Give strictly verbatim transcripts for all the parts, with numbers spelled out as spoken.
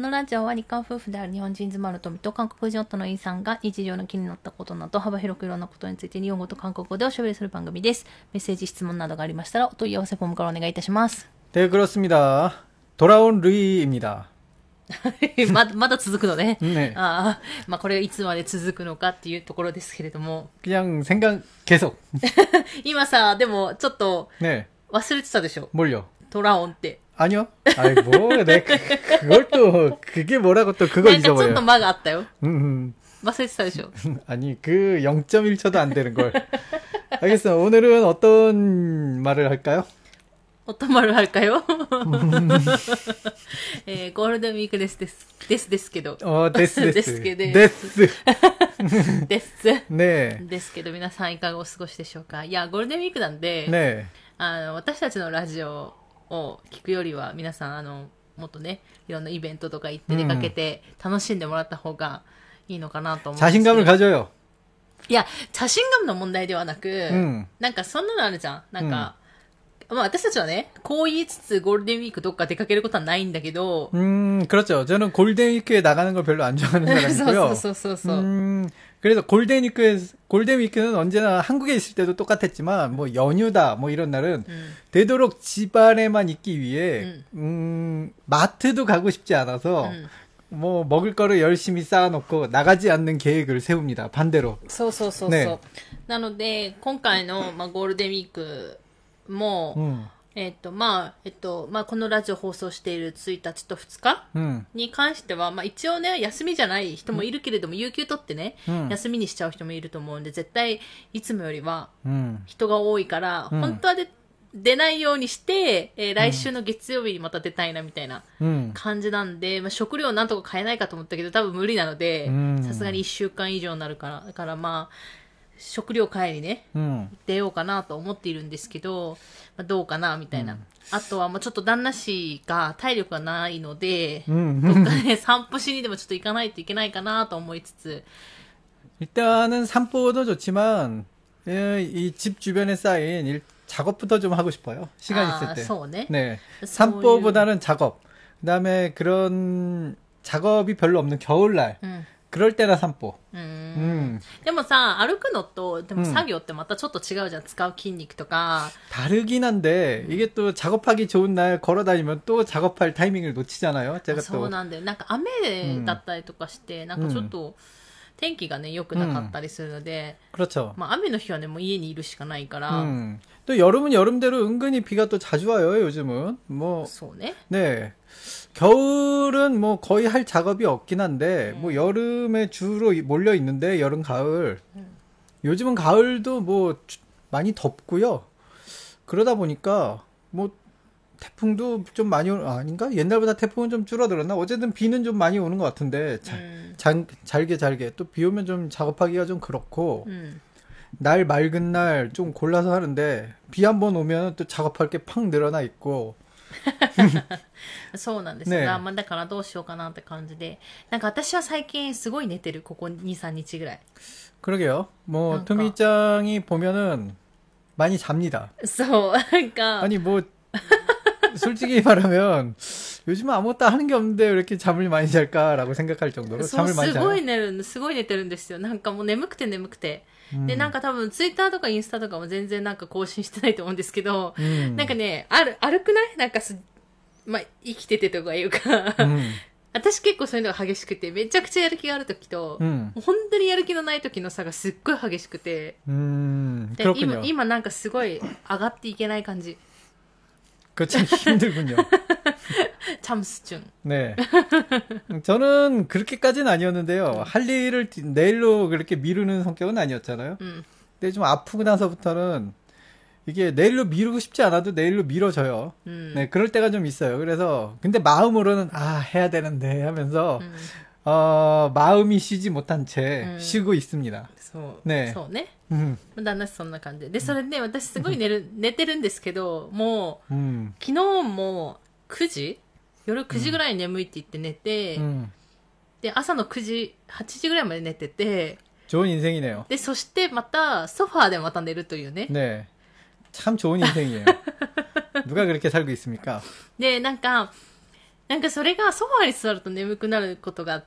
のラジオは日韓夫婦である日本人妻の富と韓国人夫のイーさんが日常の気になったことなど幅広くいろんなことについて日本語と韓国語でおしゃべりする番組です。メッセージ質問などがありましたらお問い合わせフォームからお願いいたします。 네 그렇습니다. 돌아온 루이입니다. ま, まだ続くのね。 네. ああ、まあこれいつまで続くのかっていうところですけれども。 그냥 생각 계속. 今さ、でもちょっと 네. 忘れてたでしょ。 뭘요? トラオンって。 아니요. 아이 뭐, 내 그, 그걸 또 그게 뭐라고 또 그거 잊어버려. なんかちょっと間があったよ。 음, 음. 忘れてたでしょ。 아니 그 영 점 일 초도 안 되는 걸. 알겠어. 오늘은 어떤 말을 할까요? 어떤 말을 할까요? えー、ゴールデンウィークですですですですけど。 어, 데스 데스. ですけど。 デス。 です。 네. ですけど皆さんいかがお過ごしでしょうか。いやゴールデンウィークなんで、 네. あの私たちのラジオを聞くよりは皆さんあのもっとねいろんなイベントとか行って出かけて楽しんでもらった方がいいのかなと思うんですけど。 자신감을 가져요. いや자신감の問題ではなく、うん、なんかそんなのあるじゃん。なんか、うん、まあ私たちはねこう言いつつゴールデンウィークどっか出かけることはないんだけど。 음, 그렇죠. 저는 골든위크에 나가는 걸 별로 안 좋아하는 사람이고요. そうそうそうそう。 음, 그래서 골든위크에 골든위크는 언제나 한국에 있을 때도 똑같았지만 뭐 연휴다 뭐 이런 날은 음. 되도록 집 안에만 있기 위해 음. 음, 마트도 가고 싶지 않아서 음. 뭐 먹을 거를 열심히 쌓아놓고 나가지 않는 계획을 세웁니다. 반대로. そうそうそうそう。 네. なので今回のまあゴールデンウィークも、 음. えっと、まあ、えっと、まあ、このラジオ放送しているついたちとふつか、うん、に関しては、まあ、一応ね、休みじゃない人もいるけれども、うん、有給取ってね、うん、休みにしちゃう人もいると思うんで、絶対、いつもよりは、人が多いから、うん、本当はで出ないようにして、えー、来週の月曜日にまた出たいな、みたいな感じなんで、まあ、食料なんとか買えないかと思ったけど、多分無理なので、さすがにいっしゅうかん以上になるから、だからまあ、食料買いにね、うん、出ようかなと思っているんですけど、まあ、どうかなみたいな、うん、あとはもうちょっと旦那氏が体力がないので、うん、どっかね散歩しにでもちょっと行かないといけないかなと思いつつ 일단은 산보도 좋지만 이 집 주변에 쌓인 일, 작업부터 좀 하고 싶어요. 시간 아, 있을 때. 소네? 네. 산보보다는 작업. 그다음에 그런 작업이 별로 없는 겨울날. 음. 그럴 때나 산보. 음. でもさ、歩くのとでも作業ってまたちょっと違うじゃん。使う筋肉とか。 다르긴 한데 이게 또 작업하기 좋은 날 걸어 다니면 또 작업할 타이밍을 놓치잖아요. 제가 또. そうなんだよ。なんか雨だったりとかして、なんかちょっと天気がね良くなかったりするので、 그렇죠. まあ雨の日はねもう家にいるしかないから。 음. 또 여름은 여름대로 은근히 비가 또 자주 와요, 요즘은. 뭐. そうね. 네. 겨울은 뭐 거의 할 작업이 없긴 한데, 음. 뭐 여름에 주로 몰려 있는데, 여름, 가을. 음. 요즘은 가을도 뭐 많이 덥고요. 그러다 보니까 뭐 태풍도 좀 많이 오, 아닌가? 옛날보다 태풍은 좀 줄어들었나? 어쨌든 비는 좀 많이 오는 것 같은데, 자, 음. 잘, 잘게 잘게. 또 비 오면 좀 작업하기가 좀 그렇고, 음. 날 맑은 날 좀 골라서 하는데, 비 한 번 오면 또 작업할 게 팍 늘어나 있고, そうなんですよ、ね、まあ、だからどうしようかなって感じで、なんか私は最近すごい寝てる。ここに、さんにちぐらい。 그러게요. 뭐 토미짱이 보면은 많이 잡니다. そうなんか 아니 뭐 솔직히 말하면 요즘 아무것도 하는 게 없는데 왜 이렇게 잠을 많이 잘까라고 생각할 정도로 잠을 많이 자요. すごい寝る、すごい寝てるんですよ。なんかもう眠くて眠くて。で、なんか多分ツイッターとかインスタとかも全然なんか更新してないと思うんですけど、うん、なんかね、ある、歩くないなんかす、まあ、生きててとかいうか、うん、私結構そういうのが激しくて、めちゃくちゃやる気がある時と、うん、本当にやる気のない時の差がすっごい激しくて、うん、で今、今なんかすごい上がっていけない感じ。 그거 참 힘들군요. 참수증. 네. 저는 그렇게까지는 아니었는데요. 음. 할 일을 내일로 그렇게 미루는 성격은 아니었잖아요. 음. 근데 좀 아프고 나서부터는 이게 내일로 미루고 싶지 않아도 내일로 미뤄져요. 음. 네, 그럴 때가 좀 있어요. 그래서 근데 마음으로는 아 해야 되는데 하면서 음. 어, 마음이 쉬지 못한 채 음. 쉬고 있습니다. そう。ね。そうね。うん。旦那そんな感じで。で、それで、ね、私すごい寝る、寝てるんですけど、もう、うん、昨日もくじ夜くじぐらいに眠いって言って寝て、うん、で、朝のくじ、はちじぐらいまで寝てて、 좋은 인생이네요. で、そしてまた、ソファーでまた寝るというね。 ね。참 좋은 인생이에요. 누가 그렇게 살고 있습니까? で、なんか、 なんかそれがソファーに座ると眠くなることがあって、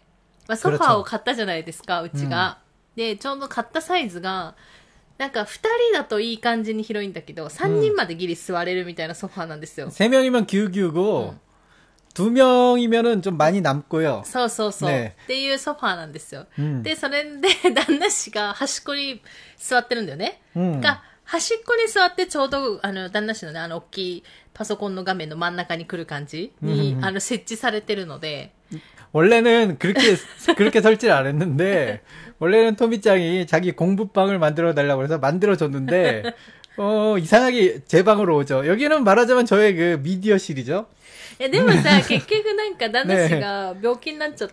まあ、ソファーを買ったじゃないですか、うちが。うん、で、ちょうど買ったサイズが、なんか二人だといい感じに広いんだけど、三人までギリ座れるみたいなソファーなんですよ。 세 명이면 기울기고、 두 명이면은 좀 많이 남고요. そうそうそう。ね、っていうソファーなんですよ。うん、で、それで旦那氏が端っこに座ってるんだよね。うん、が端っこに座ってちょうど、あの、旦那氏のね、あの、大きいパソコンの画面の真ん中に来る感じに、うん、あの、設置されてるので。 원래는 그렇게, 그렇게 설치를 안 했는데, 원래는 토미짱이 자기 공부방을 만들어 달라고 해서 만들어줬는데, 어, 이상하게 제 방으로 오죠. 여기는 말하자면 저의 그 미디어실이죠. え、でもさ、結局なんか旦那氏が病気になっちゃって、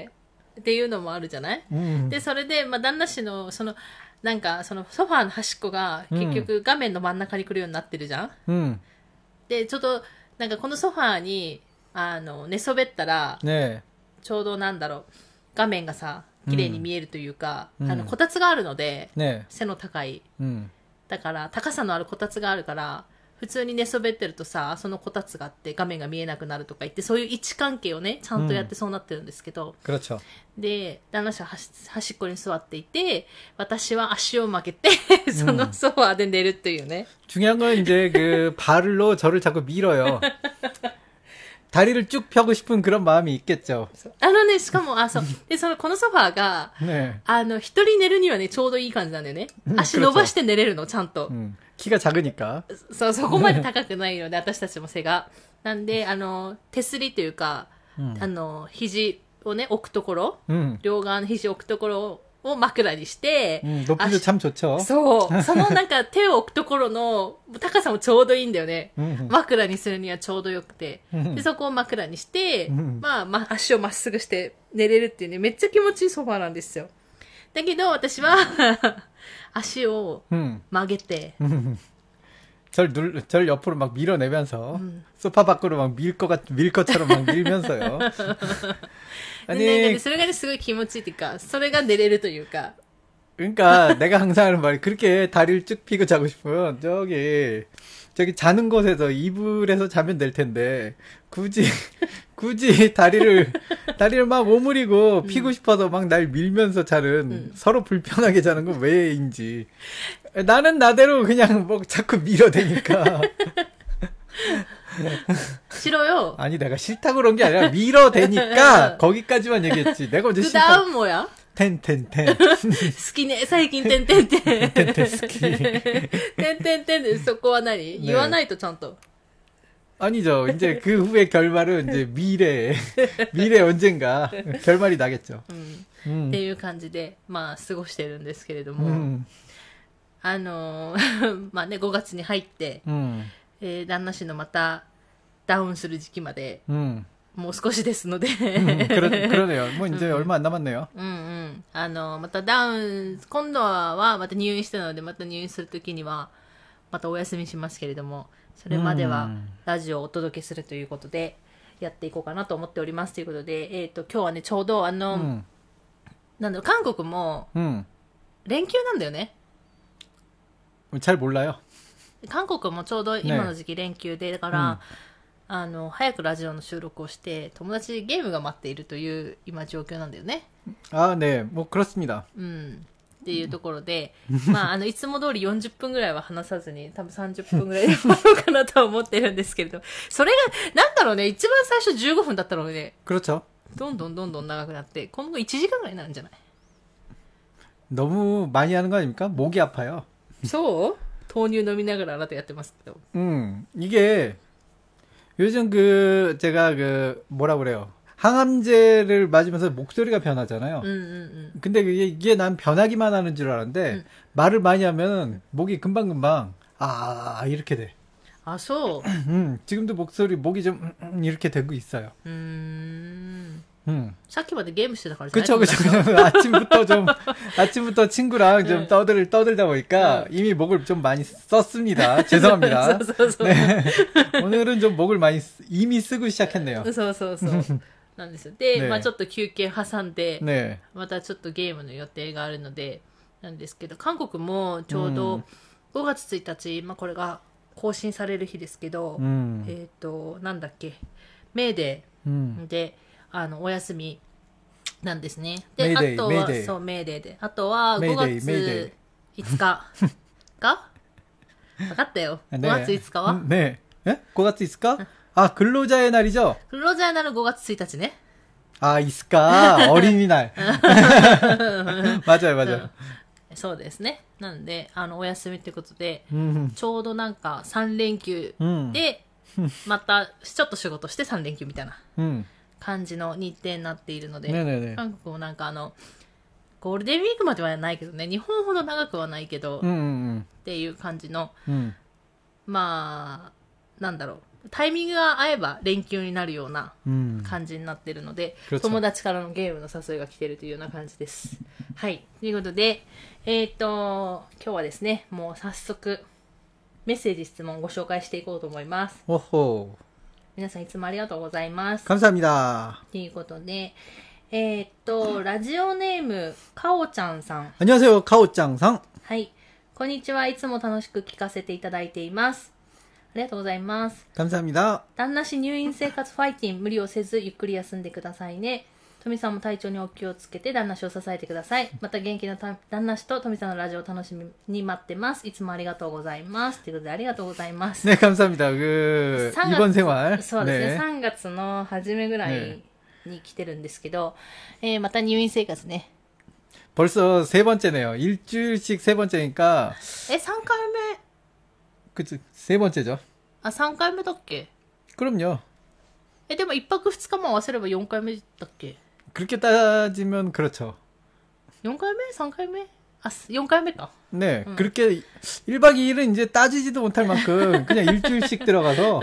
っていうのもあるじゃない、うん、で、それで、まあ、旦那氏の、その、なんか、その、ソファーの端っこが、結局、画面の真ん中に来るようになってるじゃん、うん、で、ちょっと、なんか、このソファーに、あの、寝そべったら、ね、ちょうどなんだろう、画面がさ、綺麗に見えるというか、うん、あの、こたつがあるので、ね、背の高い、うん。だから、高さのあるこたつがあるから、普通に寝そべってるとさ、そのこたつがあって画面が見えなくなるとか言って、そういう位置関係をね、ちゃんとやってそうなってるんですけど。 うん、 で、旦那氏は端っこに座っていて、私は足を曲げて、そのソファーで寝るっていうね。 중요한 건 이제 그 발로 저를 자꾸 밀어요. 다리를 쭉 펴고 싶은 그런 마음이 있겠죠. あのね、しかも、あ、そう。で、その、このソファーが、ね、あの、一人寝るにはね、ちょうどいい感じなんだよね。足伸ばして寝れるの、ちゃんと。うん、 키가 작으니까。 そう、そこまで高くないので、私たちも背が。なんで、あの、手すりというか、うん、あの、肘をね、置くところ、うん、両側の肘を置くところを枕にして、 うん、높이도 참 좋죠。 そう。そのなんか手を置くところの高さもちょうどいいんだよね。枕にするにはちょうどよくて。で、そこを枕にして、まあ、ま、足をまっすぐして寝れるっていうね、めっちゃ気持ちいいソファーなんですよ。だけど、私は、足を曲げて、 절 눌, 절 옆으로 막 밀어내면서, 음. 소파 밖으로 막 밀 것 같, 밀 것처럼 막 밀면서요. 아니, それがね、すごい気持ちいいっていうか、それが寝れるというか。 그러니까 내가 항상 하는 말이 그렇게 다리를 쭉 펴고 자고 싶으면 저기 저기 자는 곳에서 이불에서 자면 될 텐데 굳이 굳이 다리를 다리를 막 오므리고 피고 싶어서 막 날 밀면서 자는 음. 서로 불편하게 자는 건 왜인지. 나는 나대로 그냥 뭐 자꾸 밀어대니까. 싫어요. 아니 내가 싫다고 그런 게 아니라 밀어대니까 거기까지만 얘기했지. 내가 언제 싫다. 그 다음 뭐야? てんてんてん。 好きね、最近てんてんてん。 てんてんてん好き。 てんてんてんでそこは何、言わないとちゃんと。 아니죠. 이제 그 후의 결말은 이제 미래, 미래 언젠가 결말이 나겠죠. 음. 음. っていう感じで、まあ、過ごしてるんですけれども、うん、あのー、まあね、ごがつに入って、うん、えー、旦那氏のまたダウンする時期まで、うん、もう少しですので、うん、 그러네요. 뭐 이제 얼마 안 남았네요. うんうん。あの、またダウン、今度はまた入院したので、また入院するときには、またお休みしますけれども、それまではラジオをお届けするということで、やっていこうかなと思っておりますということで、えっと、今日はね、ちょうどあの、うん、なんだろう、韓国も、連休なんだよね。 잘 몰라요。 韓国もちょうど今の時期連休で、だから、うん、あの、早くラジオの収録をして、友達にゲームが待っているという今状況なんだよね。 あ、ね、もう그렇습니다。 うん。っていうところで、まあ、あの、いつも通りよんじゅっぷんぐらいは話さずに、多分さんじゅっぷんぐらいで終わろうかなとは思ってるんですけれど、それが、なんだろうね、一番最初じゅうごふんだったので、 그렇죠。 どんどんどんどん長くなって、今後いちじかんぐらいになるんじゃない？ 너무 많이 하는 거 아닙니까? 목이 아파요. そう？豆乳飲みながらあなたやってますけど。 음, 이게, 요즘 그, 제가 그, 뭐라 그래요. 항암제를 맞으면서 목소리가 변하잖아요. 음, 음, 음. 근데 이게, 이게 난 변하기만 하는 줄 알았는데, 음. 말을 많이 하면 목이 금방금방, 아, 이렇게 돼. 아, 소? 음, 지금도 목소리, 목이 좀, 음, 이렇게 되고 있어요. 음. 음. さっきまでゲームしてたからじゃない? 그쵸, 그쵸. 아침부터 좀, 아침부터 친구랑 좀 떠들, 떠들다 보니까 이미 목을 좀 많이 썼습니다. 죄송합니다. 네. 오늘은 좀 목을 많이, 이미 쓰고 시작했네요. そうそうそう。なんですよ。で、ね、まあちょっと休憩挟んで、ね、またちょっとゲームの予定があるので、なんですけど、韓国もちょうどごがつついたち、まあこれが更新される日ですけど、うん、えっと、なんだっけ、 メーデーで、うん、あの、お休みなんですね。で、あとは、そう、メーデーで。あとは、ごがついつかが分かったよ。ごがついつかはねえ。え ?ごがついつか? 아, 근로자의 날이죠? 근로자의 날은ごがつついたちね. 아, 이스까. 어린이날. 맞아요, 맞아요. そうですね。なんで、あの、お休みってことで、ちょうどなんかさん連休で、また、ちょっと仕事してさん連休みたいな感じの日程になっているので、韓国もなんかあの、ゴールデンウィークまではないけどね、日本ほど長くはないけど、っていう感じの、まあ、なんだろう。タイミングが合えば連休になるような感じになっているので、うん、友達からのゲームの誘いが来ているというような感じです。はい。ということで、えっと、今日はですね、もう早速、メッセージ質問をご紹介していこうと思います。 おほ皆さんいつもありがとうございます。 감사합니다。 ということで、えっと、ラジオネーム、かおちゃんさん。 안녕하세요、かおちゃんさん。 はい。こんにちは。いつも楽しく聞かせていただいています。ありがとうございます。 감사합니다。 旦那氏入院生活ファイティン、無理をせずゆっくり休んでくださいね。富さんも体調にお気をつけて旦那氏を支えてください。また元気な旦那氏と富さんのラジオを楽しみに待ってます。いつもありがとうございます。ということでありがとうございます。 ね、감사합니다。그 입원 생활。 そうですね。ねさんがつの初めぐらいに来てるんですけど、ねえー、また入院生活ね。 벌써 세 번째네요. 일주일씩 세 번째니까. 에, 삼回目. 그치, 세 번째죠. 아, 삼回目だっけ? 그럼요. 에, でも일 박 이 일만合わせればよん回目だっけ? 그렇게 따지면 그렇죠. 사回目? 삼回目? 아, 사回目か. 네, 응. 그렇게 일 박 이 일은 이제 따지지도 못할 만큼 그냥 일주일씩 들어가서.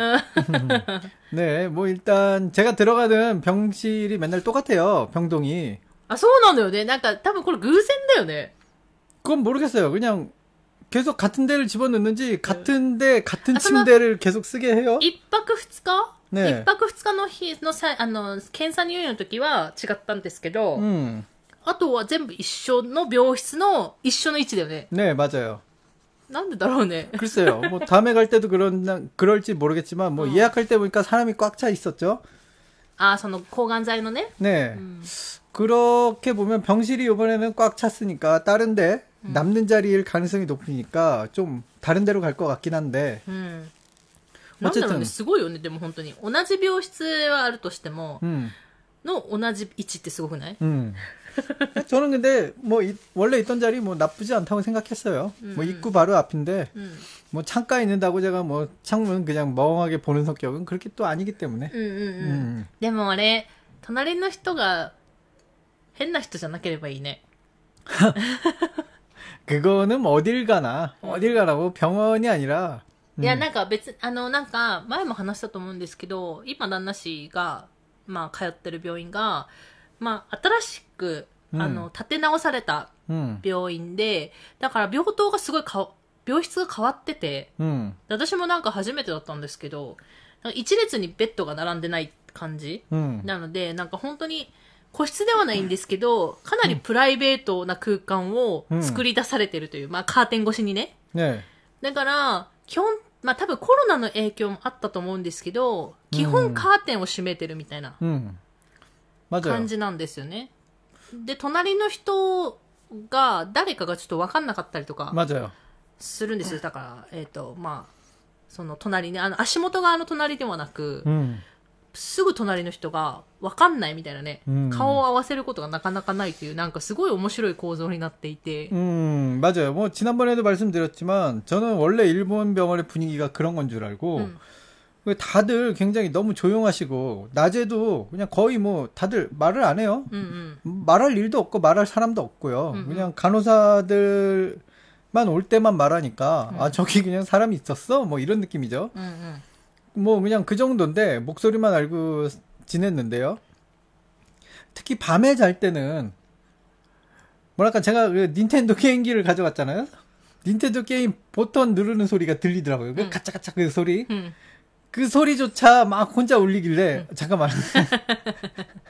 네, 뭐 일단 제가 들어가는 병실이 맨날 똑같아요. 병동이. あ、そうなんだよね。なんか多分これ偶然だよね. 그건 모르겠어요. 그냥 계속 같은 데를 집어넣는지 같은 데 같은 아, 침대를 계속 쓰게 해요. 일 박 이 일? 네. 일 박 이 일の日のさ、あの、検査入院の時は違ったんですけど、うん、あとは全部一緒の病室の一緒の位置だよね. 네, 맞아요. なんでだろうね. 글쎄요. 뭐 다음에 갈 때도 그런 그럴지 모르겠지만 뭐 어. 예약할 때 보니까 사람이 꽉 차 있었죠. 아, その抗がん剤のね. 네. 음. 그렇게 보면 병실이 이번에는 꽉 찼으니까 다른 데 음. 남는 자리일 가능성이 높으니까 좀 다른 데로 갈 것 같긴 한데. 음. 어쨌든 すごいよね。でも本当に同じ病室はあるとしても、음. の同じ位置ってすごくない? 음. 저는 근데 뭐 이, 원래 있던 자리 뭐 나쁘지 않다고 생각했어요. 음. 뭐 입구 바로 앞인데 음. 뭐 창가에 있는다고 제가 뭐 창문 그냥 멍하게 보는 성격은 그렇게 또 아니기 때문에. 음, 음, 음. でもあれ隣の人が変な人じゃなければいいね. 그거는 어딜 가나 어딜 가라고 병원이 아니라. いや、なんか別、あの、なんか、前も話したと思うんですけど、今、旦那氏が、まあ、通ってる病院が、まあ、新しく、あの、うん、建て直された病院で、うん、だから病棟がすごいか、病室が変わってて、うん、私もなんか初めてだったんですけど、一列にベッドが並んでない感じ、うん、なので、なんか本当に、個室ではないんですけど、かなりプライベートな空間を作り出されてるという、まあ、カーテン越しにね。ねだから、基本、まあ多分コロナの影響もあったと思うんですけど、基本カーテンを閉めてるみたいな感じなんですよね。で、隣の人が誰かがちょっと分かんなかったりとかするんですよ。だから、えっと、まあ、その隣ね、あの足元側の隣ではなく、うん、すぐ隣の人が分かんないみたいなね、うん、顔を合わせることがなかなかないというなんかすごい面白い構造になっていて。 음, 맞아요. 뭐 지난번에도 말씀드렸지만 저는 원래 일본 병원의 분위기가 그런 건 줄 알고 음. 다들 굉장히 너무 조용하시고 낮에도 그냥 거의 뭐 다들 말을 안 해요. 음, 음. 말할 일도 없고 말할 사람도 없고요. 음, 그냥 간호사들만 올 때만 말하니까 음. 아 저기 그냥 사람이 있었어? 뭐 이런 느낌이죠. 음, 음. 뭐 그냥 그 정도인데 목소리만 알고 지냈는데요. 특히 밤에 잘 때는 뭐랄까 제가 그 닌텐도 게임기를 가져갔잖아요. 닌텐도 게임 버튼 누르는 소리가 들리더라고요. 그 음. 가짜가짜 그 소리. 음. 그 소리조차 막 혼자 울리길래 음. 잠깐만.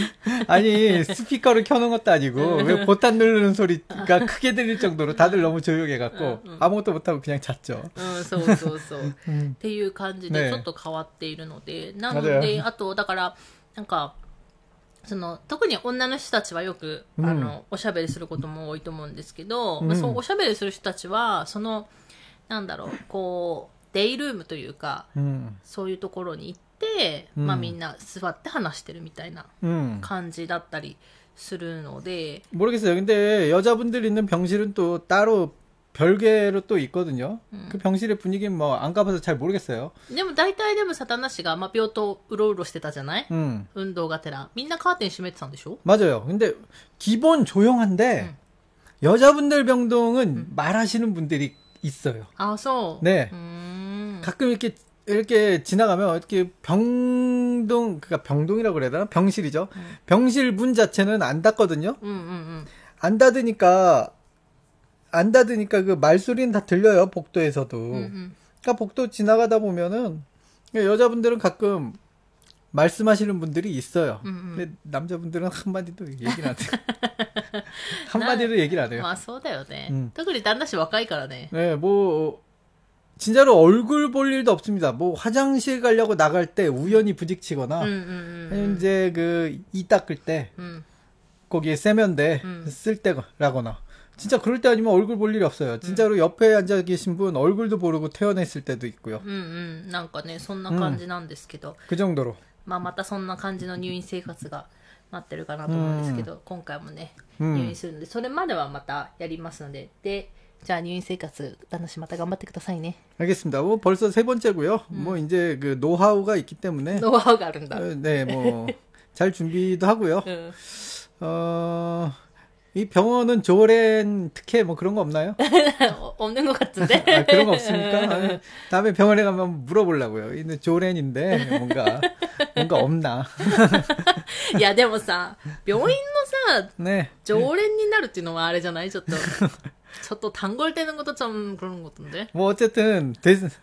아니 스피커를 켜놓은 것도 아니고 왜 보탄 누르는 소리가 크게 들릴 정도로 다들 너무 조용해갖고 아무것도 못하고 그냥 잤죠. うん、そうそうそう。っていう感じでちょっと変わっているので、なので、あと、だから、なんか、その、特に女の人たちはよく、あの、おしゃべりすることも多いと思うんですけど、まあ、そう、おしゃべりする人たちは、その、なんだろう、こう、デイルームというか、そういうところに行って、まあみんな座って話してるみたいな感じだったりするので。 모르겠어요. 근데 여자분들 있는 병실은 또 따로 별개로 또 있거든요. 음. 그 병실의 분위기는 뭐 안 가봐서 잘 모르겠어요. でも大体でもサタナ氏がまあ病棟うろうろしてたじゃない? 음. 運動がてらみんなカーテン閉めてたんでしょ? 맞아요. 근데 기본 조용한데 음. 여자분들 병동은 음. 말하시는 분들이 있어요. 아, 소. 네. 음. 가끔 이렇게 이렇게 지나가면 이렇게 병동 그러니까 병동이라고 그래야 되나? 병실이죠. 음. 병실 문 자체는 안 닫거든요. 음, 음, 음. 안 닫으니까 안 닫으니까 그 말소리는 다 들려요. 복도에서도. 음, 음. 그러니까 복도 지나가다 보면은 여자분들은 가끔 말씀하시는 분들이 있어요. 음, 음. 근데 남자분들은 한마디도 얘기를 안 해요. 한마디도 얘기를 안 해요. 아, そうだよね. 음. 특히旦那씨若いからね. 네, 뭐 진짜로 얼굴 볼 일도 없습니다. 뭐 화장실 가려고 나갈 때 우연히 부딪히거나, 음, 음, 음, 이제 그 이 닦을 때 음. 거기에 세면대 음. 쓸 때라거나, 진짜 그럴 때 아니면 얼굴 볼 일이 없어요. 진짜로 음. 옆에 앉아 계신 분 얼굴도 모르고 퇴원했을 때도 있고요. 음, 음, なんかね、そんな感じなんですけど. 그 정도로. まあまたそんな感じの入院生活がなってるかなと思うんですけど、今回もね、入院するので、それまではまたやりますので、で、じゃあ入院生活、旦那氏また頑張ってくださいね. 알겠습니다. 뭐 벌써 세 번째고요. 음. 뭐 이제 그 노하우가 있기 때문에. 노하우가 아른다. 네, 뭐 잘 준비도 하고요. 음. 어, 이 병원은 조렌 특혜 뭐 그런 거 없나요? 없는 것 같은데. 아, 그런 거 없습니까? 아, 다음에 병원에 가면 물어보려고요. 이는 조렌인데 뭔가 뭔가 없나? 야, でもさ、病院のさ、 네. 常連になるっていうのはあれじゃない? ちょっと ちょっと 단골되는 것도 좀 그런 것 같은데. 뭐 어쨌든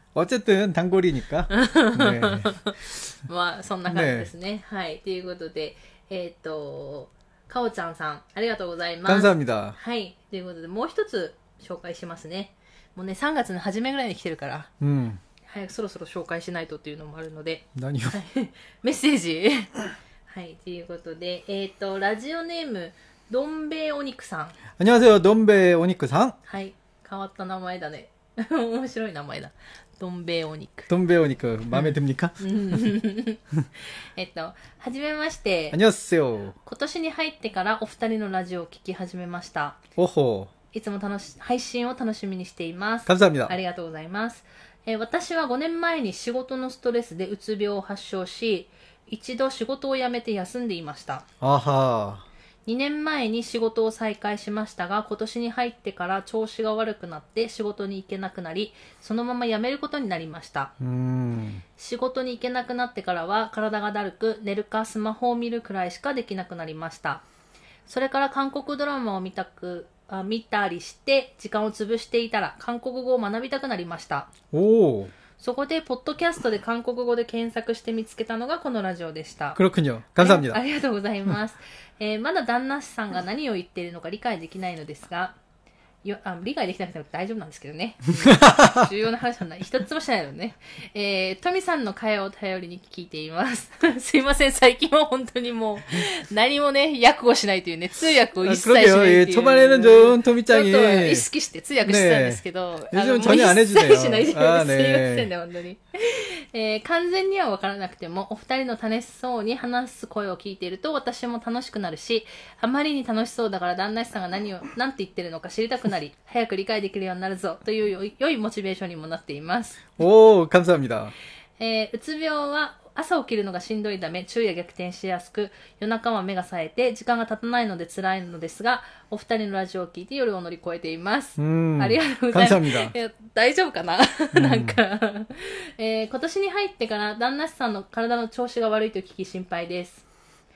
어쨌든 단골이니까. 네. まあそんな感じですね。はい。ということで、えっとかおちゃんさんありがとうございます。 감사합니다。 はい。ということでもう一つ紹介しますね。もうねさんがつの初めぐらいに来てるから。うん。早くそろそろ紹介しないとっていうのもあるので。 何を？ メッセージ。はい。ということで、えっとラジオネームどんべいお肉さん。 안녕하세요、どんべいお肉さん。 はい。変わった名前だね。面白い名前だ。どんべいお肉。 どんべいお肉、豆듭니까？ えっと、はじめまして。 안녕하세요。 今年に入ってからお二人のラジオを聞き始めました。 おほ。 いつも楽し、配信を楽しみにしています。 감사합니다。 ありがとうございます。えー、私はごねんまえに仕事のストレスでうつ病を発症し、一度仕事を辞めて休んでいました。 あは。 にねんまえに仕事を再開しましたが、今年に入ってから調子が悪くなって仕事に行けなくなり、そのまま辞めることになりました。 うーん、 仕事に行けなくなってからは体がだるく、寝るかスマホを見るくらいしかできなくなりました。それから韓国ドラマを見たくあ見たりして時間を潰していたら韓国語を学びたくなりました。 おー。 そこでポッドキャストで韓国語で検索して見つけたのがこのラジオでした。 그렇군요。감사합니다。 ありがとうございます。えー、まだ旦那さんが何を言っているのか理解できないのですが、よあ理解できなくても大丈夫なんですけどね。重要な話はない。一つもしないのね。えー、トミさんの会話を頼りに聞いています。すいません、最近は本当にもう、何もね、訳をしないというね、通訳を一切しないっていう。 초반에는 좀トミちゃんにちょっと意識して通訳してたんですけど、 ね、요즘 전혀 안 해주네요。 しないで、すいませんね、本当に。えー、完全には分からなくてもお二人の楽しそうに話す声を聞いていると私も楽しくなるし、あまりに楽しそうだから旦那さんが何を何て言ってるのか知りたくなり、早く理解できるようになるぞという良いモチベーションにもなっています。 おー、감사합니다。 えー、うつ病は朝起きるのがしんどいため昼夜逆転しやすく、夜中は目が冴えて時間が経たないので辛いのですが、お二人のラジオを聞いて夜を乗り越えています。ありがとうございます。え大丈夫かななんか、えー、今年に入ってから旦那さんの体の調子が悪いと聞き心配です。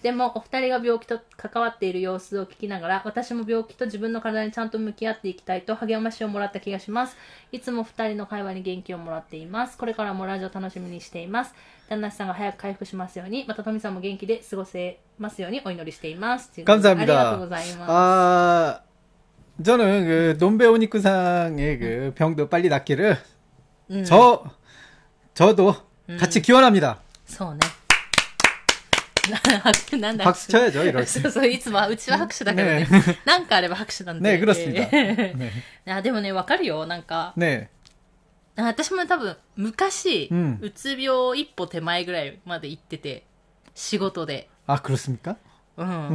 でも、お二人が病気と関わっている様子を聞きながら、私も病気と自分の体にちゃんと向き合っていきたいと励ましをもらった気がします。いつも二人の会話に元気をもらっています。これからもラジオ楽しみにしています。旦那さんが早く回復しますように、またトミさんも元気で過ごせますようにお祈りしています。 감사합니다. ありがとうございます。 아, 저는 그 논베오니쿠상의 그 병도 빨리 낫기를 음. 저 저도 음. 같이 기원합니다. そうね。 なんだ拍手쳐야죠, 이럴 때. そうそう、いつも、うちは拍手だからね。なんかあれば拍手なんで。 네, 그렇습니다. 네. あ、でもね、わかるよ、なんか。 네. 私も多分、昔、うん、うつ病一歩手前ぐらいまで行ってて、仕事で。 あ、그렇습니까? うん。うん、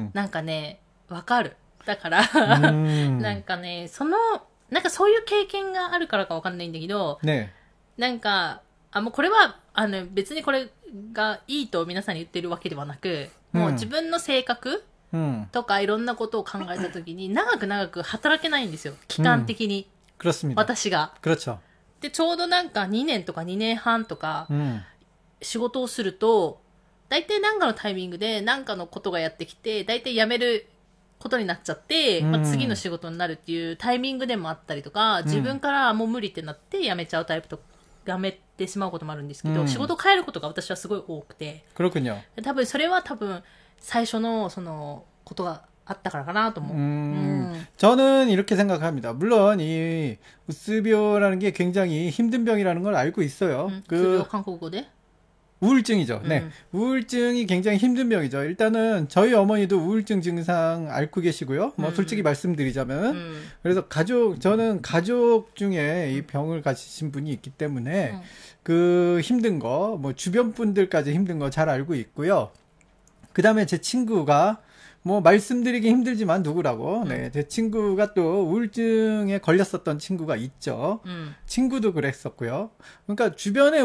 なんかね、わかる。だから、なんかね、その、なんかそういう経験があるからかわかんないんだけど、ね、なんか、あ、もうこれは、あの、別にこれがいいと皆さんに言ってるわけではなく、もう自分の性格とかいろんなことを考えたときに、長く長く働けないんですよ。期間的に。 うん、 私が。 그렇죠。 で、ちょうどなんかにねんとかにねんはんとか、仕事をすると、大体なんかのタイミングでなんかのことがやってきて、大体辞めることになっちゃって、まあ、次の仕事になるっていうタイミングでもあったりとか、自分からもう無理ってなって辞めちゃうタイプとか、やめてしまうこともあるんですけど、うん、仕事を変えることが私はすごい多くて。 그렇군요。 多分それは多分最初のそのことがあったからかなと思う。 음, 음. 저는 이렇게 생각합니다. 물론 이 우스병이라는 게 굉장히 힘든 병이라는 걸 알고 있어요. 음, 그 한국어대? 우울증이죠. 음. 네. 우울증이 굉장히 힘든 병이죠. 일단은 저희 어머니도 우울증 증상 앓고 계시고요. 뭐 음. 솔직히 말씀드리자면 음. 그래서 가족 저는 가족 중에 이 병을 가지신 분이 있기 때문에 음. 그 힘든 거, 뭐 주변 분들까지 힘든 거 잘 알고 있고요. 그다음에 제 친구가 뭐 말씀드리기 힘들지만 누구라고 음. 네, 제 친구가 또 우울증에 걸렸었던 친구가 있죠. 음. 친구도 그랬었고요. 그러니까 주변에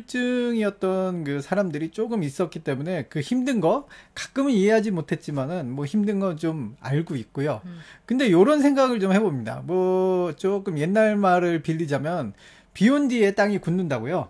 우울증이었던 그 사람들이 조금 있었기 때문에 그 힘든 거 가끔은 이해하지 못했지만은 뭐 힘든 거 좀 알고 있고요. 음. 근데 요런 생각을 좀 해봅니다. 뭐 조금 옛날 말을 빌리자면 비 온 뒤에 땅이 굳는다고요.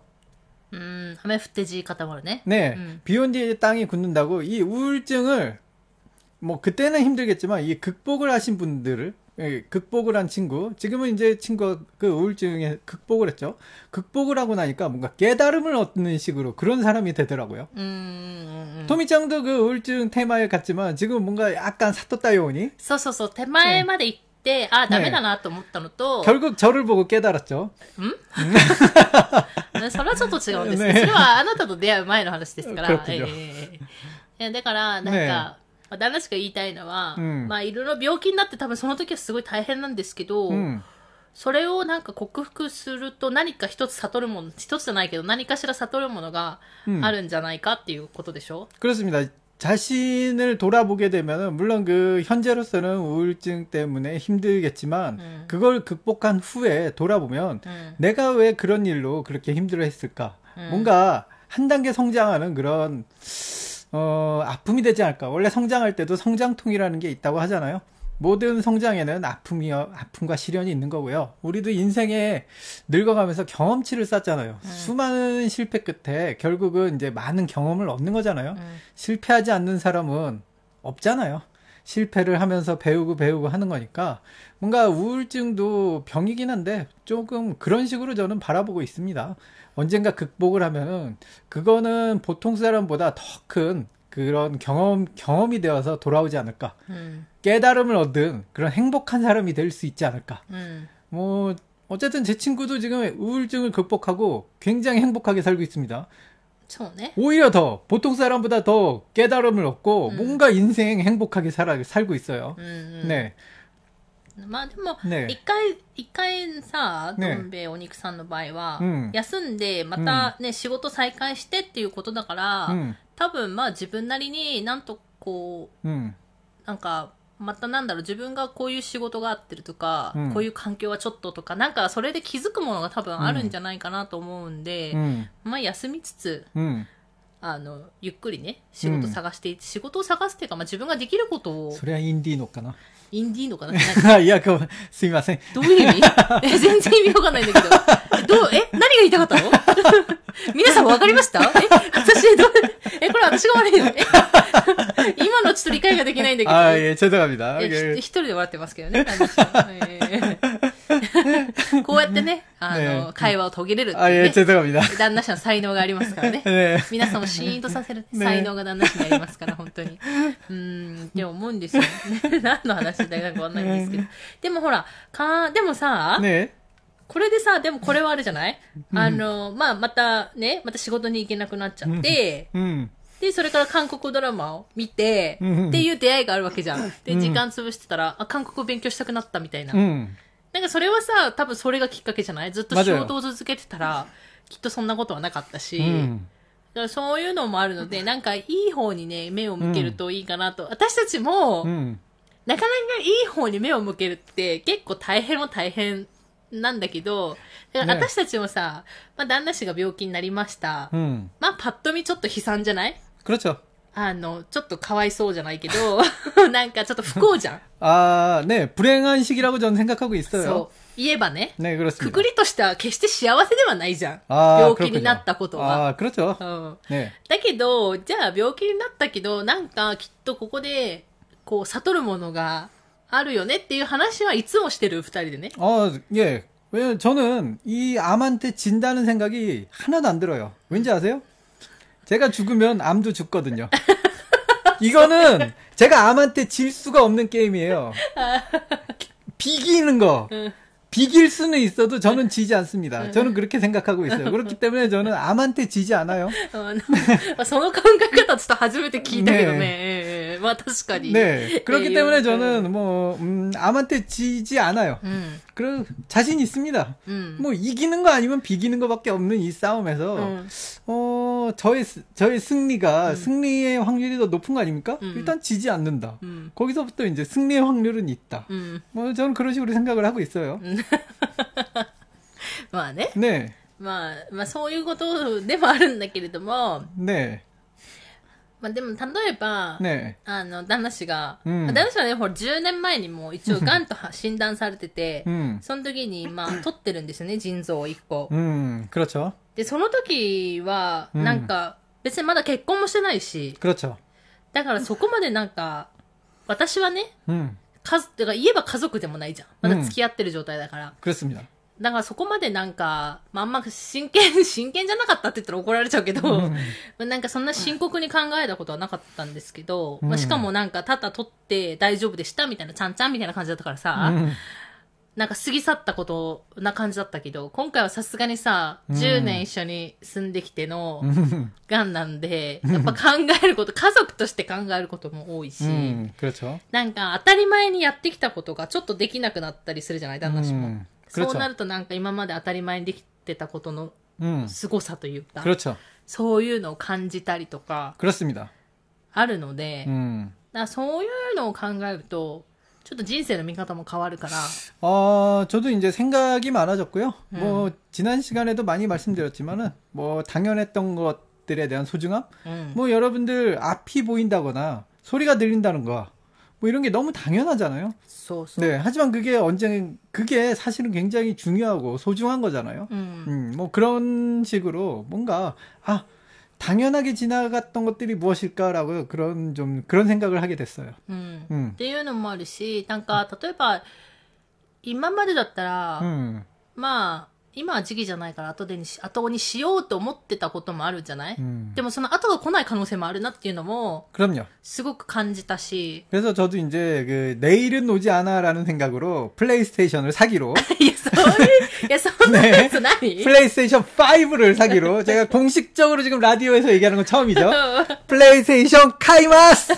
음, 하메 푸테지 카타마르네. 네, 음. 비 온 뒤에 땅이 굳는다고 이 우울증을 뭐 그때는 힘들겠지만 이 극복을 하신 분들을 예, 극복을 한 친구 지금은 이제 친구가 그 우울증에 극복을 했죠. 극복을 하고 나니까 뭔가 깨달음을 얻는 식으로 그런 사람이 되더라고요. 음, 음, 음. 토미짱도 그 우울증 테마에 갔지만 지금 뭔가 약간 사토따요니. そうそうそう手前まで行って、あ、ダメだなと思ったのと、 결국 저를 보고 깨달았죠. 음? それはちょっと違うんですけど、それはあなたと出会う前の話ですから。ええいやだからなんか。旦那しか言いたいのは、うん、まあいろいろ病気になって多分その時はすごい大変なんですけど、うん、それをなんか克服すると何か一つ悟るもの、一つじゃないけど何かしら悟るものがあるんじゃないかっていうことでしょ？ 그렇습니다. 자신을 돌아보게 되면은 물론 그 현재로서는 우울증 때문에 힘들겠지만 음. 그걸 극복한 후에 돌아보면 음. 내가 왜 그런 일로 그렇게 힘들어했을까? 음. 뭔가 한 단계 성장하는 그런 어, 아픔이 되지 않을까. 원래 성장할 때도 성장통이라는 게 있다고 하잖아요. 모든 성장에는 아픔이, 아픔과 시련이 있는 거고요. 우리도 인생에 늙어가면서 경험치를 쌓잖아요. 음. 수많은 실패 끝에 결국은 이제 많은 경험을 얻는 거잖아요. 음. 실패하지 않는 사람은 없잖아요. 실패를 하면서 배우고 배우고 하는 거니까 뭔가 우울증도 병이긴 한데 조금 그런 식으로 저는 바라보고 있습니다. 언젠가 극복을 하면은 그거는 보통 사람보다 더 큰 그런 경험 경험이 되어서 돌아오지 않을까. 음. 깨달음을 얻은 그런 행복한 사람이 될 수 있지 않을까. 음. 뭐 어쨌든 제 친구도 지금 우울증을 극복하고 굉장히 행복하게 살고 있습니다. 좋네. 오히려 더 보통 사람보다 더 깨달음을 얻고 음. 뭔가 인생 행복하게 살아 살고 있어요. 음, 음. 네. まあでも、ね、一回、一回さ、どん兵衛お肉さんの場合は、うん、休んで、またね、うん、仕事再開してっていうことだから、うん、多分まあ自分なりになんとこう、うん、なんか、またなんだろう、自分がこういう仕事があってるとか、うん、こういう環境はちょっととか、なんかそれで気づくものが多分あるんじゃないかなと思うんで、うん、まあ休みつつ、 うんあの、ゆっくりね、仕事探していって、うん、仕事を探すっていうか、まあ、自分ができることを。 それはインディーノかな。 インディーノかないや、こう、すみません。 どういう意味え、全然意味わかんないんだけど。どう、え、何が言いたかったの皆さんわかりましたえ、私、どう、え、これ私が悪いのえちょっと理解ができないんだけど。 あ、え、죄송합니다。 一人で笑ってますけどね、旦那氏は。えー、こうやってね、あの、会話を途切れるっていう、ね。あ、え、 죄송합니다。 旦那氏の才能がありますからね。ね、皆さんをシーンとさせる才能が旦那氏にありますから、本当に。うーん、って思うんですよ。何の話だかわかんないんですけど。でもほら、か、でもさ、ね、これでさ、でもこれはあるじゃない、うん、あの、まあ、またね、また仕事に行けなくなっちゃって、うん、で、それから韓国ドラマを見て、うん、っていう出会いがあるわけじゃん。で、時間潰してたら、あ、韓国を勉強したくなったみたいな。うん、なんかそれはさ、多分それがきっかけじゃない？ずっと仕事を続けてたら、きっとそんなことはなかったし、うん、だからそういうのもあるので、なんかいい方にね、目を向けるといいかなと。私たちも、うん、なかなかいい方に目を向けるって結構大変も大変なんだけど、だから私たちもさ、ね、まあ旦那氏が病気になりました。うん、まあパッと見ちょっと悲惨じゃない？ 그렇죠。 あの、ちょっとかわいそうじゃないけど、なんかちょっと不幸じゃん。 あー、ね、불행한시기라고 저는 생각하고 있어요。 そう。言えばね。 ね、그렇습니다。 くくりとしては決して幸せではないじゃん。病気になったことは。 あー、그렇죠。 うん。ね。だけど、じゃあ病気になったけど、なんかきっとここで、こう、悟るものがあるよねっていう話はいつもしてる、二人でね。 あー、예。왜냐면 저는 이 암한테 진다는 생각이 하나도 안 들어요. 왠지 아세요? 제가 죽으면 암도 죽거든요. 이거는 제가 암한테 질 수가 없는 게임이에요. 비기는 거. 비길 수는 있어도 저는 지지 않습니다. 저는 그렇게 생각하고 있어요. 그렇기 때문에 저는 암한테 지지 않아요. その考え方ちょっと初めて聞いたけどね。まあ確かに。 네. 그렇기 때문에 저는 뭐 음, 암한테 지지 않아요. 음. 그리고 자신 있습니다. 음. 뭐 이기는 거 아니면 비기는 거밖에 없는 이 싸움에서 음. 어 저의 저의 승리가 음. 승리의 확률이 더 높은 거 아닙니까? 음. 일단 지지 않는다. 음. 거기서부터 이제 승리의 확률은 있다. 음. 뭐 저는 그런 식으로 생각을 하고 있어요. まあね。 ねまあ、まあそういうことでもあるんだけれども。 ねまあでも例えば、ねあの、旦那氏が、うん、旦那氏はね、ほらじゅうねんまえにも一応癌と診断されてて、うん、その時にまあ取ってるんですよね、腎臓をいっこ。 うん、그렇죠。 で、その時は、なんか、別にまだ結婚もしてないし、 그렇죠。 だからそこまでなんか、私はね、うん、かだから言えば家族でもないじゃん。まだ付き合ってる状態だから。 그렇습니다。 だからそこまでなんか、まあ、あんま真剣、真剣じゃなかったって言ったら怒られちゃうけど、うん、まあなんかそんな深刻に考えたことはなかったんですけど、うん、まあ、しかもなんかただ取って大丈夫でしたみたいな、ちゃんちゃんみたいな感じだったからさ、うん、なんか過ぎ去ったことな感じだったけど、今回はさすがにさ、じゅうねん一緒に住んできての癌なんで、やっぱ考えること、家族として考えることも多いし、うん、なんか当たり前にやってきたことがちょっとできなくなったりするじゃない、旦那氏も。うんそうなるとなんか今まで当たり前にできてたことの凄さというか、うん、そういうのを感じたりとかあるので、うん、だからそういうのを考えるとちょっと人生の見方も変わるから。 어, 저도 이제 생각이 많아졌고요. 음. 뭐 지난 시간에도 많이 말씀드렸지만은 뭐 당연했던 것들에 대한 소중함, 음. 뭐 여러분들 앞이 보인다거나 소리가 들린다는 거. 뭐 이런 게 너무 당연하잖아요. so, so. 네, 하지만 그게 언제 그게 사실은 굉장히 중요하고 소중한 거잖아요. 음. 음, 뭐 그런 식으로 뭔가 아 당연하게 지나갔던 것들이 무엇일까라고 그런 좀 그런 생각을 하게 됐어요. 음. 음. っていうのもあるし、なんか例えば今までだったら、まあ。今は時期じゃないから後でにし、後にしようと思ってたこともあるじゃない、うん、でもその後が来ない可能性もあるなっていうのも、 그럼요。 すごく感じたし。 그래서 저도 이제 그 내일은 오지 않아라는 생각으로 플레이스테이션을 사기로. いや、そういう、いや、そんなやつ何? 플레이스테이션 파이브를 사기로 제가 공식적으로 지금 라디오에서 얘기하는 건 처음이죠. 플레이스테이션 카이마스!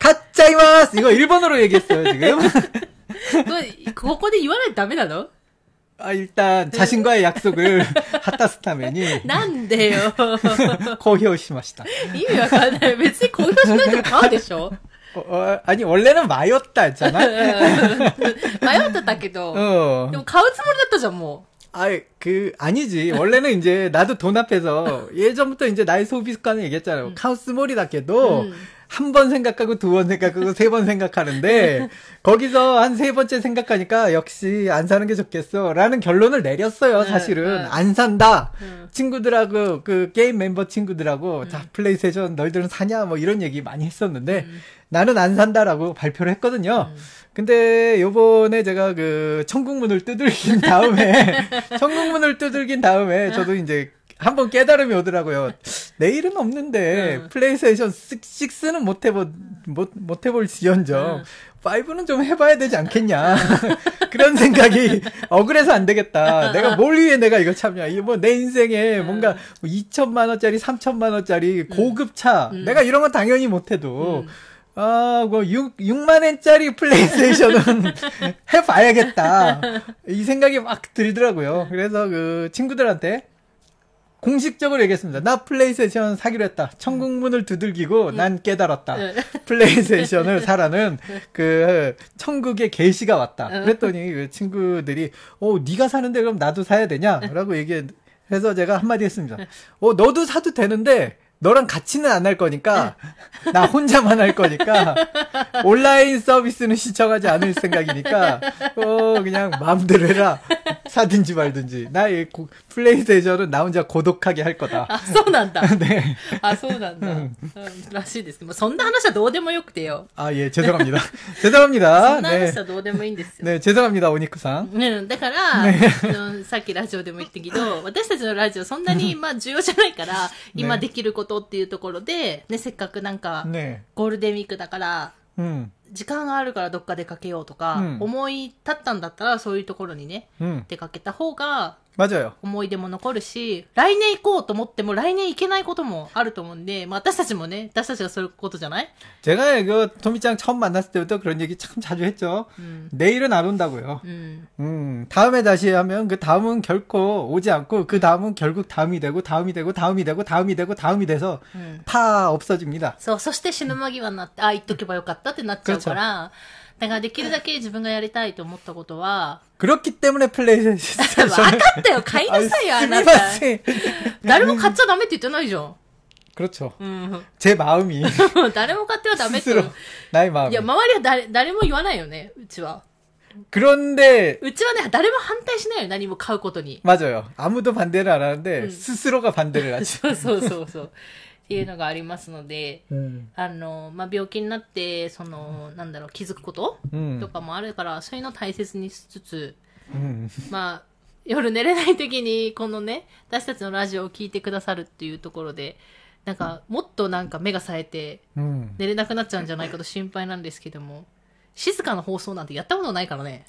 가짜이마스! 이거 일본어로 얘기했어요, 지금. ここで言わないとダメなの? 아, 일단, 자신과의 약속을, 하타스타맨이. 난데요. 고효시마시다. 이미 약간, 別に 고효시마시다 가와でしょ? 어, 어, 아니, 원래는 마였다 했잖아? 마였다けど. 어. でも買うつもりだったじゃん, 뭐. 아이, 그, 아니지. 원래는 이제, 나도 돈 앞에서, 예전부터 이제 나의 소비 습관을 얘기했잖아요. 음. 카우스몰이다 해도, 음. 한 번 생각하고 두 번 생각하고 세 번 생각하는데 거기서 한 세 번째 생각하니까 역시 안 사는 게 좋겠어 라는 결론을 내렸어요. 사실은 안 산다. 친구들하고 그 게임 멤버 친구들하고 자 플레이스테이션 너희들은 사냐 뭐 이런 얘기 많이 했었는데 나는 안 산다라고 발표를 했거든요. 근데 요번에 제가 그 천국문을 두들긴 다음에 천국문을 두들긴 다음에 저도 이제 한번 깨달음이 오더라고요. 내일은 없는데 응. 플레이스테이션 식스는 못 해볼 못, 못 해볼 지연정 응. 파이브는 좀 해봐야 되지 않겠냐 그런 생각이 억울해서 안 되겠다. 내가 뭘 위해 내가 이거 참냐. 이게 뭐 내 인생에 응. 뭔가 뭐 이천만 원짜리 삼천만 원짜리 고급차 응. 내가 이런 건 당연히 못 해도 응. 아, 뭐, 육, 육만 엔짜리 플레이스테이션은 해봐야겠다. 이 생각이 막 들더라고요. 그래서 그 친구들한테 공식적으로 얘기했습니다. 나 플레이스테이션 사기로 했다. 천국문을 두들기고 난 깨달았다. 플레이스테이션을 사라는 그 천국의 계시가 왔다. 그랬더니 그 친구들이 어, 네가 사는데 그럼 나도 사야 되냐? 라고 얘기해서 제가 한마디 했습니다. 어, 너도 사도 되는데 너랑 같이는 안 할 거니까 나 혼자만 할 거니까 온라인 서비스는 시청하지 않을 생각이니까 어 그냥 마음대로 해라. 사든지 말든지. 나 이 플레이스테이션은 나 혼자 고독하게 할 거다. 아, そうなんだ. 네. 아, そうなんだ. 음, らしいです. 뭐, そんな話はどうでもよくてよ. 아, 예, 죄송합니다. 죄송합니다. そんな話はどうでもいいんですよ. 네, 죄송합니다, 오니쿠상. 네, だから、ね、さっきラジオでも言ったけど、私たちのラジオそんなに、まあ、重要じゃないから、今できることっていうところで、ね、せっかくなんか、ね、ゴールデンウィークだから、うん、時間があるからどっか出かけようとか、うん、思い立ったんだったらそういうところにね、うん、出かけた方が 맞아요. 思い出も残るし、来年行こうと思っても来年行けないこともあると思うんで、まあ私たちもね、私たちがそういうことじゃない? 제가 그 토미짱 처음 만났을 때부터 그런 얘기 참 자주 했죠. 음. 내일은 안 온다고요. 음. 음, 다음에 다시 하면 그 다음은 결코 오지 않고 그 다음은 결국 다음이 되고 다음이 되고 다음이 되고 다음이 되고 다음이 돼서 음. 다 없어집니다. そう、そして死ぬ間際になって、あ、言っとけばよかったってなっちゃうから、だからできるだけ自分がやりたいと思ったことは、 그렇기 때문에 플레이스테이션 分かったよ、買いなさいよ、あなた。誰も買っちゃダメって言ってないじゃん。 그렇죠. 음. 제 마음이 誰も買ってはダメって。 나의 마음. いや、周りは誰、誰も言わないよね、うちは。 그런데 うちはね、誰も反対しないよ、何も買うことに。 맞아요. 아무도 반대를 안 하는데 음. 스스로가 반대를 하죠. そうそうそうそう。っていうのがありますので、うん、あの、まあ、病気になって、その、なんだろう、気づくこと、うん、とかもあるから、そういうのを大切にしつつ、うん、まあ、夜寝れない時に、このね、私たちのラジオを聞いてくださるっていうところで、なんか、もっとなんか目が冴えて、寝れなくなっちゃうんじゃないかと心配なんですけども、静かな放送なんてやったことないからね。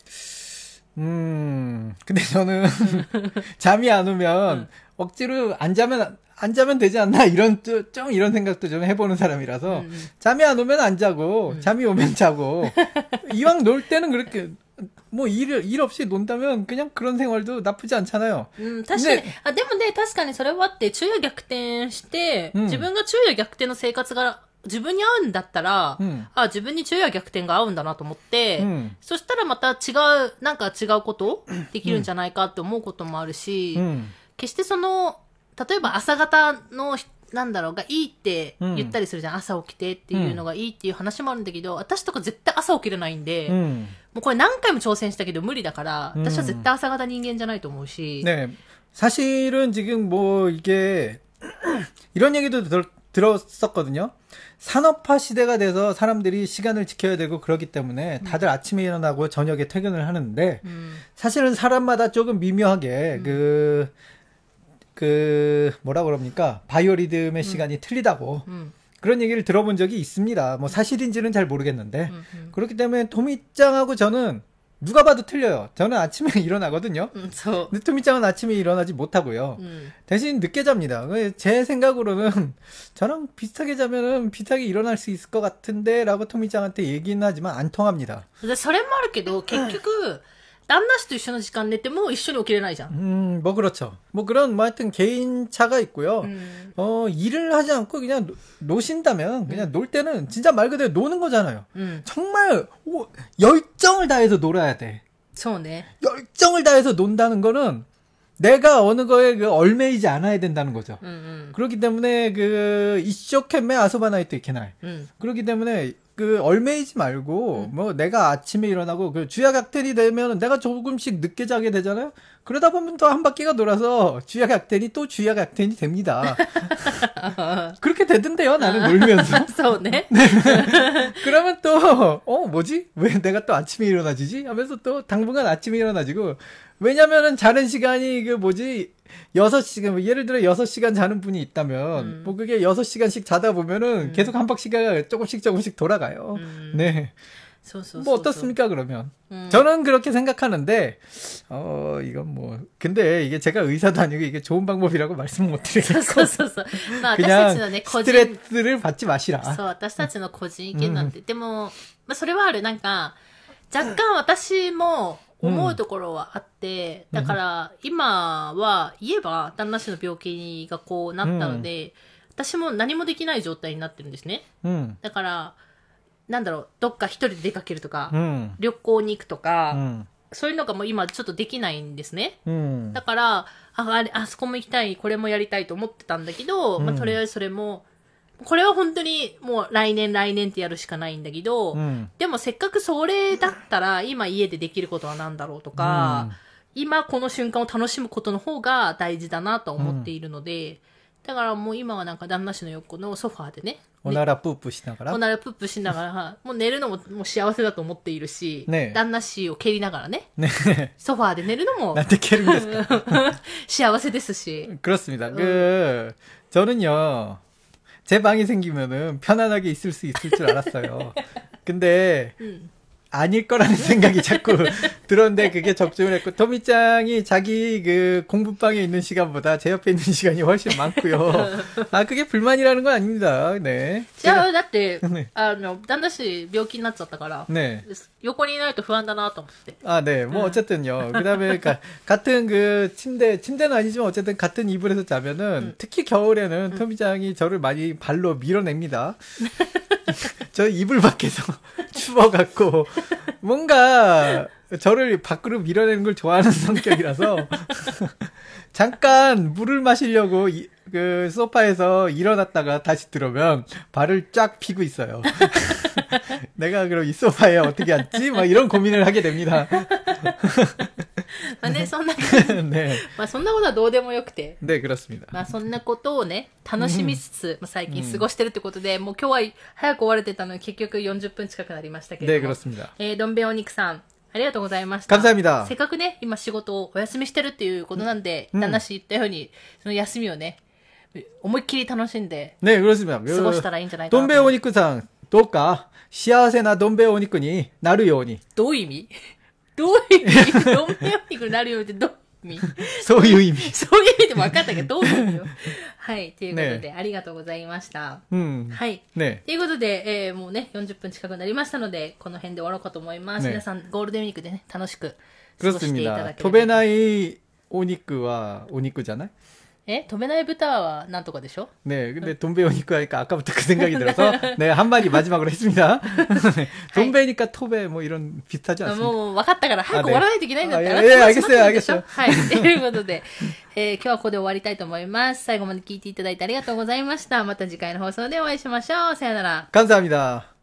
음, 근데 저는 잠이 안 오면 응. 억지로 안 자면 안 자면 되지 않나 이런 좀 이런 생각도 좀 해보는 사람이라서 음. 잠이 안 오면 안 자고 음. 잠이 오면 자고 이왕 놀 때는 그렇게 뭐 일 일 없이 논다면 그냥 그런 생활도 나쁘지 않잖아요. 음, 確かに。あ、でもね、確かにそれはあって昼夜逆転して、自分が昼夜逆転の生活が自分に合うんだったら、うん、あ、自分に昼夜逆転が合うんだなと思って、うん、そしたらまた違う、なんか違うことできるんじゃないかって思うこともあるし、うん、決してその、例えば朝方の、なんだろう、がいいって言ったりするじゃん。うん、朝起きてっていうのがいいっていう話もあるんだけど、私とか絶対朝起きれないんで、うん、もうこれ何回も挑戦したけど無理だから、私は絶対朝方人間じゃないと思うし。 ね、사실은 지금 뭐 이게 이런 얘기도 들, 들었었거든요. 산업화 시대가 돼서 사람들이 시간을 지켜야 되고 그렇기 때문에 다들 음. 아침에 일어나고 저녁에 퇴근을 하는데 음. 사실은 사람마다 조금 미묘하게 음. 그, 그 뭐라 그럽니까 바이오리듬의 음. 시간이 틀리다고 음. 그런 얘기를 들어본 적이 있습니다. 뭐 사실인지는 잘 모르겠는데 음. 음. 그렇기 때문에 토미짱하고 저는 누가 봐도 틀려요. 저는 아침에 일어나거든요. 음, 저... 근데 토미짱은 아침에 일어나지 못하고요. 음. 대신 늦게 잡니다. 제 생각으로는 저랑 비슷하게 자면은 비슷하게 일어날 수 있을 것 같은데 라고 토미짱한테 얘기는 하지만 안 통합니다. それもあるけど結局旦那氏と一緒の時間寝ても一緒に起きれないじゃん. 음, 뭐 그렇죠. 뭐 그런 뭐 하여튼 개인차가 있고요. 음. 어, 일을 하지 않고 그냥 노, 노신다면 그냥 음. 놀 때는 진짜 말 그대로 노는 거잖아요. 음. 정말 오, 열정을 다해서 놀아야 돼. 그렇네. 열정을 다해서 논다는 거는 내가 어느 거에 그 얼매이지 않아야 된다는 거죠. 음, 음. 그렇기 때문에 그 이쇼懸매 아소바나이 또 이케나이. 음. 그렇기 때문에 그 얼매이지 말고 음. 뭐 내가 아침에 일어나고 그 주야각텐이 되면 내가 조금씩 늦게 자게 되잖아요. 그러다 보면 또 한 바퀴가 돌아서 주야각텐이 또 주야각텐이 됩니다. 그렇게 되던데요. 나는 놀면서. 네. 네. 그러면 또 어 뭐지? 왜 내가 또 아침에 일어나지지? 하면서 또 당분간 아침에 일어나지고. 왜냐면은 자는 시간이 그 뭐지 여섯 시간 뭐 예를 들어 여섯 시간 자는 분이 있다면 음. 뭐 그게 여섯 시간씩 자다 보면은 음. 계속 한 바퀴가 조금씩 조금씩 돌아가요. 음. 네. 소소, 뭐 어떻습니까 그러면? 음. 저는 그렇게 생각하는데 어 이건 뭐 근데 이게 제가 의사도 아니고 이게 좋은 방법이라고 말씀을 못 드리겠고 그냥 스트레스를 받지 마시라. そう、私たちの個人意見なんて、でも、まあ、それはある、なんか、若干私も思うところはあって、だから、今は言えば、旦那氏の病気がこうなったので、私も何もできない状態になってるんですね。だから、なんだろう、どっか一人で出かけるとか、旅行に行くとか、そういうのがもう今ちょっとできないんですね。だから、あ、あれ、あそこも行きたい、これもやりたいと思ってたんだけど、まあ、とりあえずそれも、これは本当にもう来年来年ってやるしかないんだけど、うん、でもせっかくそれだったら今家でできることは何だろうとか、うん、今この瞬間を楽しむことの方が大事だなと思っているので、うん、だからもう今はなんか旦那氏の横のソファーでね、 おならプープしながらおならプープしながら、もう寝るのももう幸せだと思っているし、ね、旦那氏を蹴りながらね、ねソファーで寝るのもなんで蹴るんですか幸せですし。 그렇습니다. 음. 그 저는요. 제 방이 생기면은 편안하게 있을 수 있을 줄 알았어요. 근데 음. 아닐 거라는 생각이 자꾸 들었는데 그게 적중을 했고 토미짱이 자기 그 공부방에 있는 시간보다 제 옆에 있는 시간이 훨씬 많고요. 아 그게 불만이라는 건 아닙니다. 네. 제가 だって あの旦那氏病気になっちゃったから 네. 横にいないと不安だなと思って. 아 네. 뭐 어쨌든요. 그다음에 그러니까 같은 그 침대 침대는 아니지만 어쨌든 같은 이불에서 자면은 음. 특히 겨울에는 음. 토미짱이 저를 많이 발로 밀어냅니다. 저 이불 밖에서 추워갖고 뭔가 저를 밖으로 밀어내는 걸 좋아하는 성격이라서 잠깐 물을 마시려고 이, 그 소파에서 일어났다가 다시 들어오면 발을 쫙 피고 있어요. 내가 그럼 이 소파에 어떻게 앉지? 막 이런 고민을 하게 됩니다. まあね、そんなね、まあそんなことはどうでもよくて。 ね、그렇습니다。 まあそんなことをね、楽しみつつ、まあ最近過ごしてるってことで、もう今日は早く終われてたのに結局よんじゅっぷん近くなりましたけれども。 ね、그렇습니다。 えー、どん兵衛お肉さん、ありがとうございました。 감사합니다。 せっかくね、今仕事をお休みしてるっていうことなんで、旦那氏言ったように、その休みをね、思いっきり楽しんで、 ね、그렇습니다。 過ごしたらいいんじゃないかな。 どん兵衛お肉さん、どうか幸せなどん兵衛お肉になるように。 どういう意味どういう意味どん兵衛お肉になるようにってどういう意味そういう意味。 そういう意味でも分かったけど、どういう意味よ。はい。ということで、ね、ありがとうございました。 うん。 はい。ね。ということで、えー、もうね、よんじゅっぷん近くなりましたので、この辺で終わろうかと思います。ね、皆さん、ゴールデンウィークでね、楽しく過ごしていただければ。 飛べないお肉はお肉じゃない？ え飛べない豚はなんとかでしょ 네 근데 돈베오니까 하니까 아까부터 그 생각이 들어서 네 한마디 마지막으로 했습니다. 돈베니까 토베 뭐 이런 비슷하지 않습니까? もう分かったから早く終わらないといけないんだったら。 ええ、알겠어요, 알겠어요. はい。ということで、えー、今日はここで終わりたいと思います。最後まで聞いていただいてありがとうございました。また次回の放送でお会いしましょう。さよなら。 감사합니다.